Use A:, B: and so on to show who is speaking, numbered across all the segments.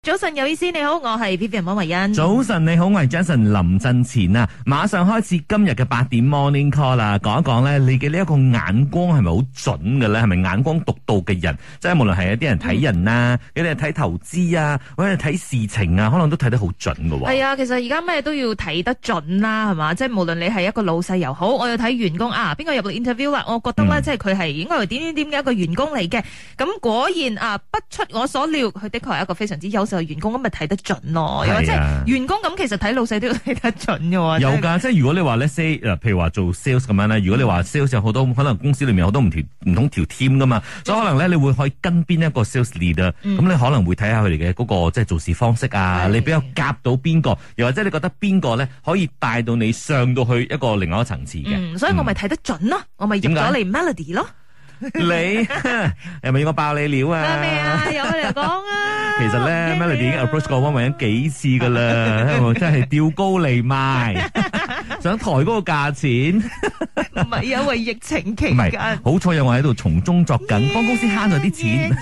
A: 早晨有意思，你好，我係 Vivian 溫慧欣。
B: 早晨你好，我係 Jason 林振前啊！馬上開始今日嘅8點 Morning Call 啦，講一講咧，你嘅呢一個眼光係咪好準嘅咧？係咪眼光獨到嘅人？即係無論係一啲人睇人啊，有啲人睇投資啊，或者睇事情啊，可能都睇得好準嘅喎。
A: 係啊，其實而家咩都要睇得準啦，係嘛？即係無論你係一個老細又好，我要睇員工啊，邊個入嚟 interview 啦？我覺得咧，即係佢係應該係點嘅一個員工嚟嘅。咁果然啊，不出我所料，佢的確係一個非常之優秀嘅員工，咁咪睇得準咯。又或者員工咁，其實睇老細都要睇得準嘅喎。
B: 有㗎，即係如果你話咧 say 譬如話做 sales 咁樣咧，如果你話 sales 有好多可能公司裏面有好多唔同條 team 噶嘛，所以可能咧你會可以跟邊一個 sales leader，咁你可能會睇下佢哋嘅嗰個即係做事方式啊，你比較夾到邊個，又或者你覺得邊個咧可以帶到你上到去一個另外一個層次嘅。
A: 所以我咪睇得準咯，我咪入咗嚟 Melody 咯。
B: 你係咪要我爆你料啊？
A: 咩啊？有佢嚟講啊！
B: 其實咧，Melody 已經 approach 過溫慧欣幾次噶啦，真係吊高嚟賣，想抬嗰個價錢。
A: 唔係因為疫情期間，
B: 唔係好彩有我喺度從中作緊，幫公司慳咗啲錢。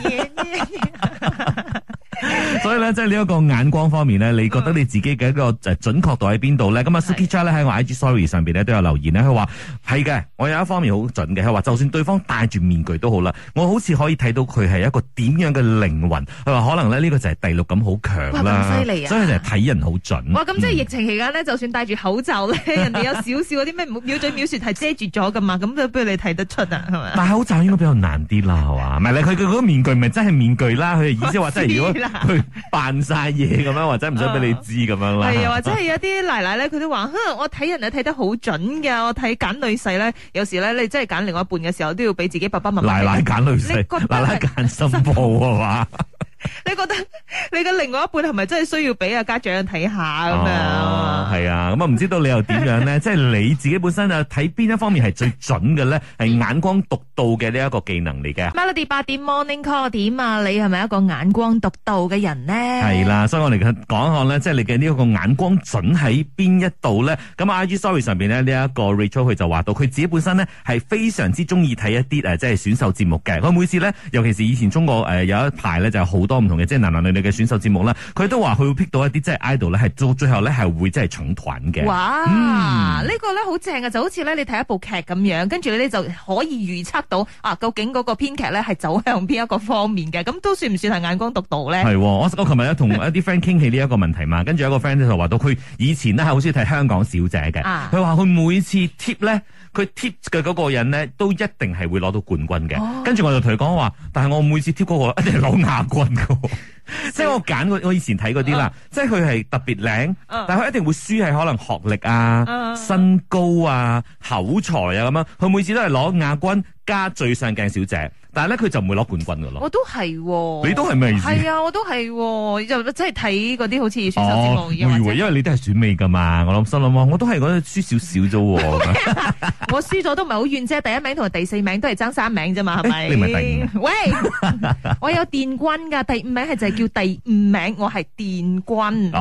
B: 所以咧，即係呢一個眼光方面咧，你覺得你自己嘅一個準確度喺邊度咧？咁啊，Suki Cha 咧喺我 IG Story 上邊咧都有留言咧，佢話係嘅，我有一方面好準嘅，佢話就算對方戴住面具都好啦，我好似可以睇到佢係一個點樣嘅靈魂。佢話可能咧呢個就係第六感好強啦，
A: 咁犀利啊！
B: 所以就係睇人好準。
A: 哇，咁即係疫情期間咧，就算戴住口罩咧，人哋有少少嗰啲咩藐嘴藐舌係遮住咗噶嘛，咁都不如你睇得出啊，係咪？
B: 戴口罩應該比較難啲啦，係嘛？唔係佢嗰個面具咪真係面具啦，佢嘅意思話即係如果佢扮晒嘢咁樣，或者唔想俾你知咁樣啦。係
A: 啊，或者係有啲奶奶咧，佢都話，我睇人睇得好準噶，我睇揀女婿咧，有時咧你真係揀另外一半嘅時候，都要俾自己爸爸媽媽。
B: 奶奶揀女婿，奶奶揀新抱係嘛？
A: 你覺得你嘅另外一半係咪真係需要俾阿家長睇下咁樣？
B: 係啊，咁啊唔知道你又點樣咧？即係你自己本身啊睇邊一方面係最準嘅咧？係眼光獨到嘅呢一個技能嚟嘅。
A: Melody 8點 Morning Call 點啊？你係咪一個眼光獨到嘅人呢？
B: 係啦，所以我哋講一講咧，即係你嘅呢一個眼光準喺邊一度咧？咁 IG Story 上邊咧呢一個 Rachel 佢就話到，佢自己本身咧係非常之中意睇一啲即係選秀節目嘅。佢每次咧，尤其是以前中國有一排咧就好多唔同嘅即係男男女女嘅選秀節目啦，佢都話佢會 pick 到一啲即係 idol 咧，係到最後咧係會即係搶團嘅。
A: 哇！呢個咧好正啊，就好似咧你睇一部劇咁樣，跟住你就可以預測到究竟嗰個編劇咧係走向邊一個方面嘅，咁都算唔算係眼光獨到咧？係，
B: 我琴日同一啲 friend 傾起呢一個問題嘛，跟住有一個 friend 就話到佢以前咧係好中意睇香港小姐嘅，佢話佢每次 tip 咧，佢 tip 嘅嗰個人咧都一定係會攞到冠軍嘅。跟住我就同佢講話，但係我每次 tip 嗰個一定係攞亞軍嘅。即係我揀我以前睇嗰啲啦，即係佢係特別靚，但係佢一定會輸係可能學歷啊、身高啊、口才啊咁樣。佢每次都係攞亞軍加最上鏡小姐，但係咧佢就唔會攞冠軍噶咯。
A: 我都係，
B: 你都係咩意思？
A: 係啊，我都係，就即係睇嗰啲好似選秀節目。
B: 我以為因為你都係選美噶嘛，我心諗我都係覺得輸少少啫。
A: 我輸咗都唔係好遠啫，第一名同第4名都係爭3名啫嘛，係咪？
B: 你唔係第5？
A: 喂，我有殿軍噶，第5名係就係叫第5名，我係殿軍。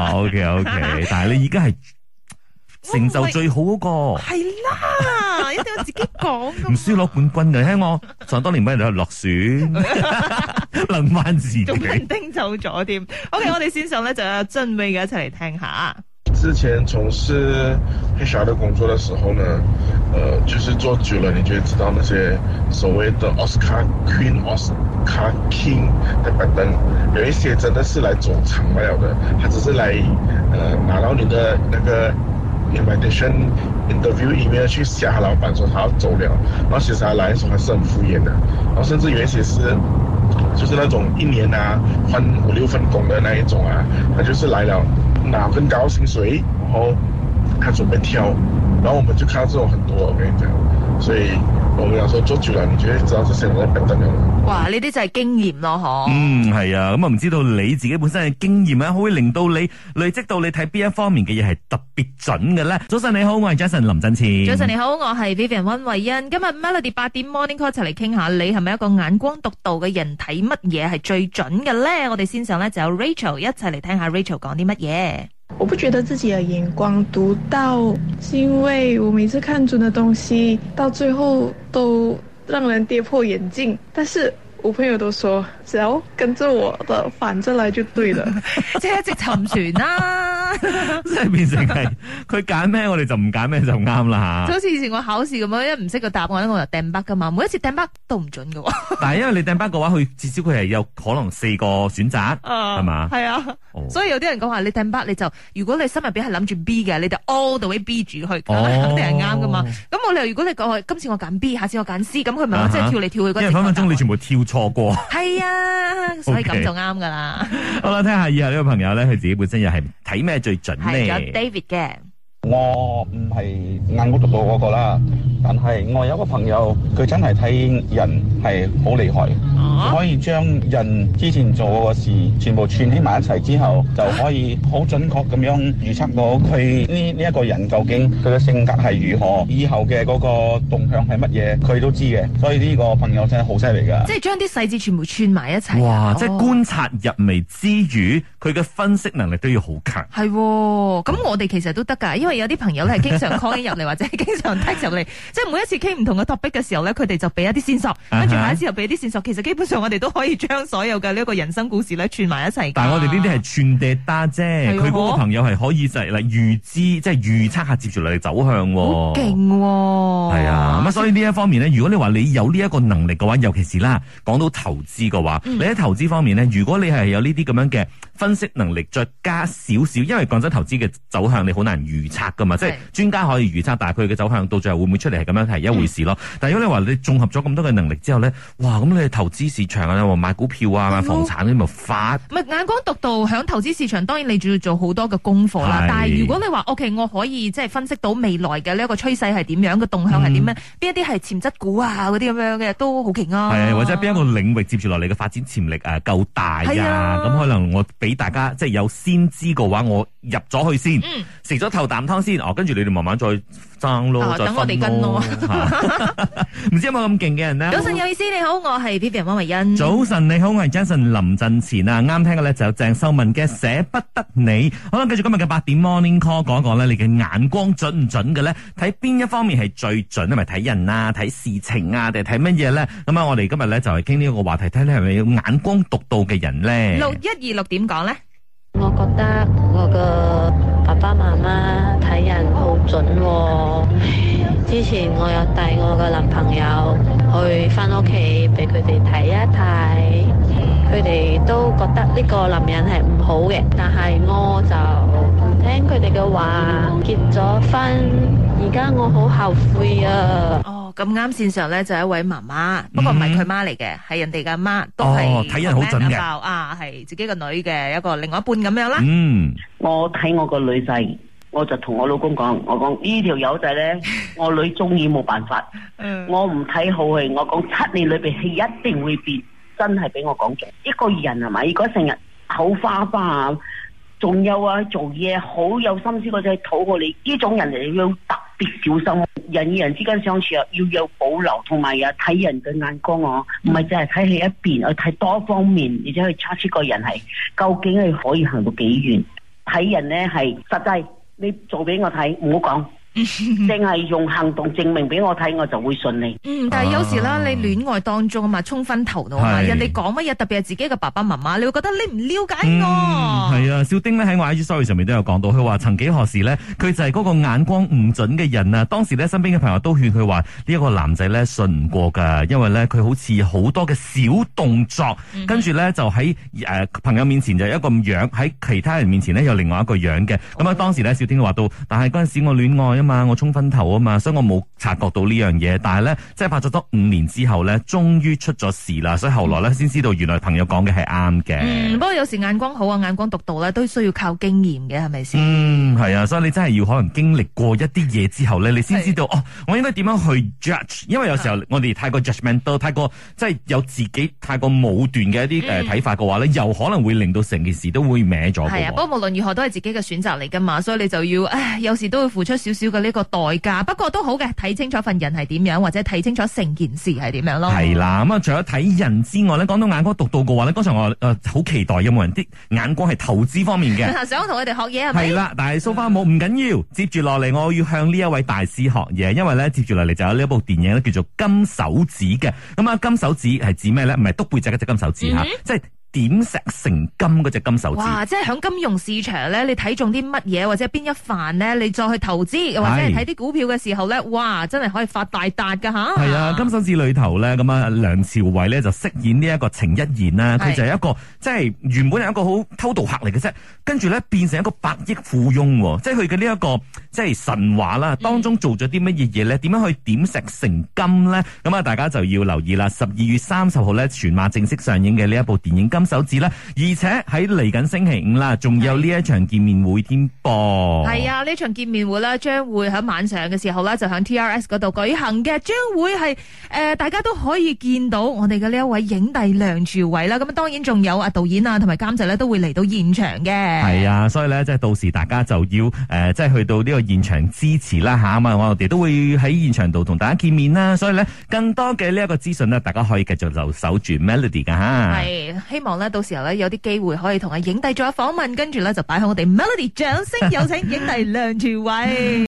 B: OK， 但係你而家係成就最好嗰個。
A: 係啦，一定要自己講。
B: 唔輸攞冠軍嘅，聽我想當年俾人哋落選，諗翻自己。
A: 仲俾人叮走咗添。OK， 我哋線上咧就有鄭威嘅一齊嚟聽下。
C: 之前從事 HR 的工作的時候呢，就是做久了，你就會知道那些所謂的 Oscar Queen、Oscar King 的拜登，有一些真的是來走場外的，他只是來拿到你的那個 invitation interview email 去嚇老闆說他要走了，然後其實他來的時候還是很敷衍的，然後甚至有一些是就是那種1年啊換5、6份工的那一種啊，他就是來了拿更高薪水，然後他準備跳，然後我們就看到這種很多，我跟你講，所以我們講說做久了，你就會知道這些人在笨蛋了。
A: 哇，呢啲就係經驗咯，嗬。
B: 係啊，咁啊唔知道你自己本身嘅經驗咧，可以令到你累積到你睇邊一方面嘅嘢係特別準嘅咧。早晨你好，我係 Jason 林振前。
A: 早晨你好，我係 Vivian 溫慧欣。今日 Melody 8點 Morning Call 一齊嚟傾下，你係咪一個眼光獨到嘅人？睇乜嘢係最準嘅咧？我哋線上咧就有 Rachel 一齊嚟聽下 Rachel 講啲乜嘢。
D: 我不覺得自己的眼光獨到，是因為我每次看準的東西，到最後都讓人跌破眼鏡。但是我朋友都說只要跟着我的反着來就對了。
A: 即係一直沉船啦，
B: 即係變成係佢揀咩，我哋就唔揀咩就啱啦吓。
A: 就好似以前我考試咁樣，一唔識個答案我就掟筆噶嘛，每一次掟筆都唔準噶。
B: 但係因為你掟筆嘅話，佢至少佢係有可能4個選擇，係嘛？
A: 係啊，所以有啲人講話你掟筆你就，如果你心入邊係諗住 B 嘅，你就 all the way B 住去，肯定係啱噶嘛。咁我哋如果你講今次我揀 B，下次我揀 C，咁佢咪即係跳嚟跳去嗰。因為分分鐘
B: 你全部跳錯過。
A: 係啊，所以咁就啱噶啦。
B: 好啦，聽下以下呢個朋友咧，佢自己本身又係睇咩最準咧？
A: 係有 David 嘅。
E: 我唔係眼光獨到嗰個啦，但係我有個朋友，佢真係睇人係好厲害，可以將人之前做過嘅事全部串起埋一齊之後，就可以好準確咁樣預測到佢呢一個人究竟佢嘅性格係如何，以後嘅嗰個動向係乜嘢，佢都知嘅。所以呢個朋友真係好犀利噶，
A: 即係將啲細節全部串埋一齊。
B: 哇！即係觀察入微之餘，佢嘅分析能力都要好強。
A: 係，咁我哋其實都得噶，因為有啲朋友咧係經常 call 入嚟，或者係經常 text 入嚟，即係每一次傾唔同嘅 topic 嘅時候咧，佢哋就俾一啲線索，跟住下一次又俾一啲線索。其實基本上我哋都可以將所有嘅呢一個人生故事咧串埋一齊。
B: 但係我哋呢啲係串地單啫，佢嗰個朋友係可以就係嚟預知，即係預測下接住嚟嘅走向。好
A: 勁喎！
B: 係啊，咁所以呢一方面咧，如果你話你有呢一個能力嘅話，尤其是啦，講到投資嘅話，你喺投資方面咧，如果你係有呢啲咁樣嘅分析能力，再加少少，因為講真，投資嘅走向你好難預測噶嘛，即係專家可以預測，但係佢嘅走向到最後會唔會出嚟係咁樣係一回事咯。但係如果你話你綜合咗咁多嘅能力之後咧，哇，咁你投資市場啊，買股票啊，買房產嗰啲咪發？唔係
A: 眼光獨到，響投資市場當然你仲要做好多嘅功課啦。但係如果你話 OK， 我可以即係分析到未來嘅呢一個趨勢係點樣，個動向係點樣，邊一啲係潛質股啊嗰啲咁樣嘅都好勁啊。
B: 係或者邊一個領域接住落嚟嘅發展潛力夠大啊，咁可能我俾大家即係有先知嘅話，我入咗去先，食咗頭啖湯先，跟住你哋慢慢再爭咯，再分咯。等我哋跟咯。唔知有冇咁勁嘅人呢？
A: 早晨有意思，你好，我係 Vivian 汪慧欣。
B: 早晨你好，我係 Jason 林振前啊！啱聽嘅咧就有鄭秀文嘅捨不得你。好啦，繼續今日嘅8點 Morning Call， 講一講咧，你嘅眼光準唔準嘅咧？睇邊一方面係最準咧？咪睇人啊，睇事情啊，定係睇乜嘢咧？咁啊，我哋今日咧就係傾呢一個話題，睇你係咪有眼光獨到嘅人咧？6126點講咧？
F: 我覺得我嘅爸爸媽媽睇人好準喎。之前我有帶我嘅男朋友去返屋企俾佢哋睇一睇，佢哋都覺得呢個男人係唔好嘅，但係我就唔聽佢哋嘅話，結咗婚，而家我好後悔啊！
A: 咁啱線上咧就一位媽媽，不過唔係佢媽嚟嘅，係人哋嘅媽，都係
B: 睇人好準嘅
A: 啊，係自己個女嘅一個另外一半咁樣啦。
G: 我睇我個女仔，我就同我老公講，我講呢條友仔咧，我女中意冇辦法，我唔睇好佢，我講7年裏邊係一定會變，真係俾我講中。一個人係咪？如果成日口花花啊，仲有啊做嘢好有心思嗰陣討好你，呢種人就要特別小心。人與人之間相處啊，要有保留，同埋啊睇人嘅眼光哦，唔係淨係睇佢一邊，去睇多方面，而且去測出個人係究竟係可以行到幾遠。睇人咧係實際，你做俾我睇，唔好講。淨係用行動證明俾我睇，我就會信你。
A: 但係有時啦，你戀愛當中啊嘛，衝昏頭腦啊嘛，人哋講乜嘢，特別係自己嘅爸爸媽媽，你會覺得你唔了解我。
B: 係啊，小丁咧喺我 IG story 上面都有講到，佢話曾幾何時咧，佢就係嗰個眼光唔準嘅人啊。當時咧，身邊嘅朋友都勸佢話呢一個男仔咧信唔過噶，因為咧佢好似好多嘅小動作，跟住咧就喺朋友面前就一個樣，喺其他人面前咧有另外一個樣嘅。咁啊，當時咧小丁話到，但係嗰陣時我戀愛嘛，我衝昏頭啊嘛，所以我冇察覺到呢樣嘢。但係咧，即係拍咗多5年之後咧，終於出咗事啦。所以後來咧，先知道原來朋友講嘅係啱嘅。
A: 不過有時眼光好啊，眼光獨到咧，都需要靠經驗嘅，係咪先？
B: 係啊，所以你真係要可能經歷過一啲嘢之後咧，你先知道哦，我應該點樣去 judge。因為有時候我哋太過 judgmental，太過即係有自己太過武斷嘅一啲睇法嘅話咧，又可能會令到成件事都會歪咗。係啊，
A: 不過無論如何都係自己嘅選擇嚟噶嘛，所以你就要有時都會付出少少嘅呢個代價。不過都好嘅，睇清楚份人係點樣，或者睇清楚成件事係點樣咯。
B: 係啦，咁啊，除咗睇人之外咧，講到眼光獨到嘅話咧，剛才我好期待有冇人啲眼光係投資方面嘅，
A: 想同佢哋學嘢係咪？
B: 係啦，但係so far冇唔緊要，接住落嚟我要向呢一位大師學嘢，因為咧接住落嚟就有呢一部電影咧叫做金手指嘅。咁啊，金手指係指咩咧？唔係篤背脊嗰隻金手指吓，即係點石成金嗰隻金手指。
A: 哇！即係響金融市場咧，你睇中啲乜嘢或者邊一範咧，你再去投資或者係睇啲股票嘅時候咧，哇！真係可以發大達噶吓。
B: 係啊，金手指裏頭咧，咁啊梁朝偉咧就飾演呢一個程一言啦，佢就係一個即係原本係一個好偷渡客嚟嘅啫，跟住咧變成一個100億富翁，即係佢嘅呢一個即係神話啦，當中做咗啲乜嘢嘢咧？點樣去點石成金咧？咁啊，大家就要留意啦。12月30號咧，全馬正式上映嘅呢一部電影金手指啦，而且喺嚟緊星期五啦，仲有呢一場見面會添噃。
A: 係啊，呢場見面會咧，將會喺晚上嘅時候咧，就喺 TRS 嗰度舉行嘅，將會係大家都可以見到我哋嘅呢一位影帝梁朝偉啦。咁當然仲有導演啊同埋監製咧，都會嚟到現場嘅。係
B: 啊，所以咧即係到時大家就要即係去到呢個現場支持啦吓，咁啊我哋都會喺現場度同大家見面啦。所以咧更多嘅呢一個資訊呢，大家可以繼續就守住 Melody 噶吓。
A: 係希望咧到時候咧有啲機會可以同阿影帝做下訪問，跟住咧就擺喺我哋 Melody 掌聲有請影帝梁朝偉。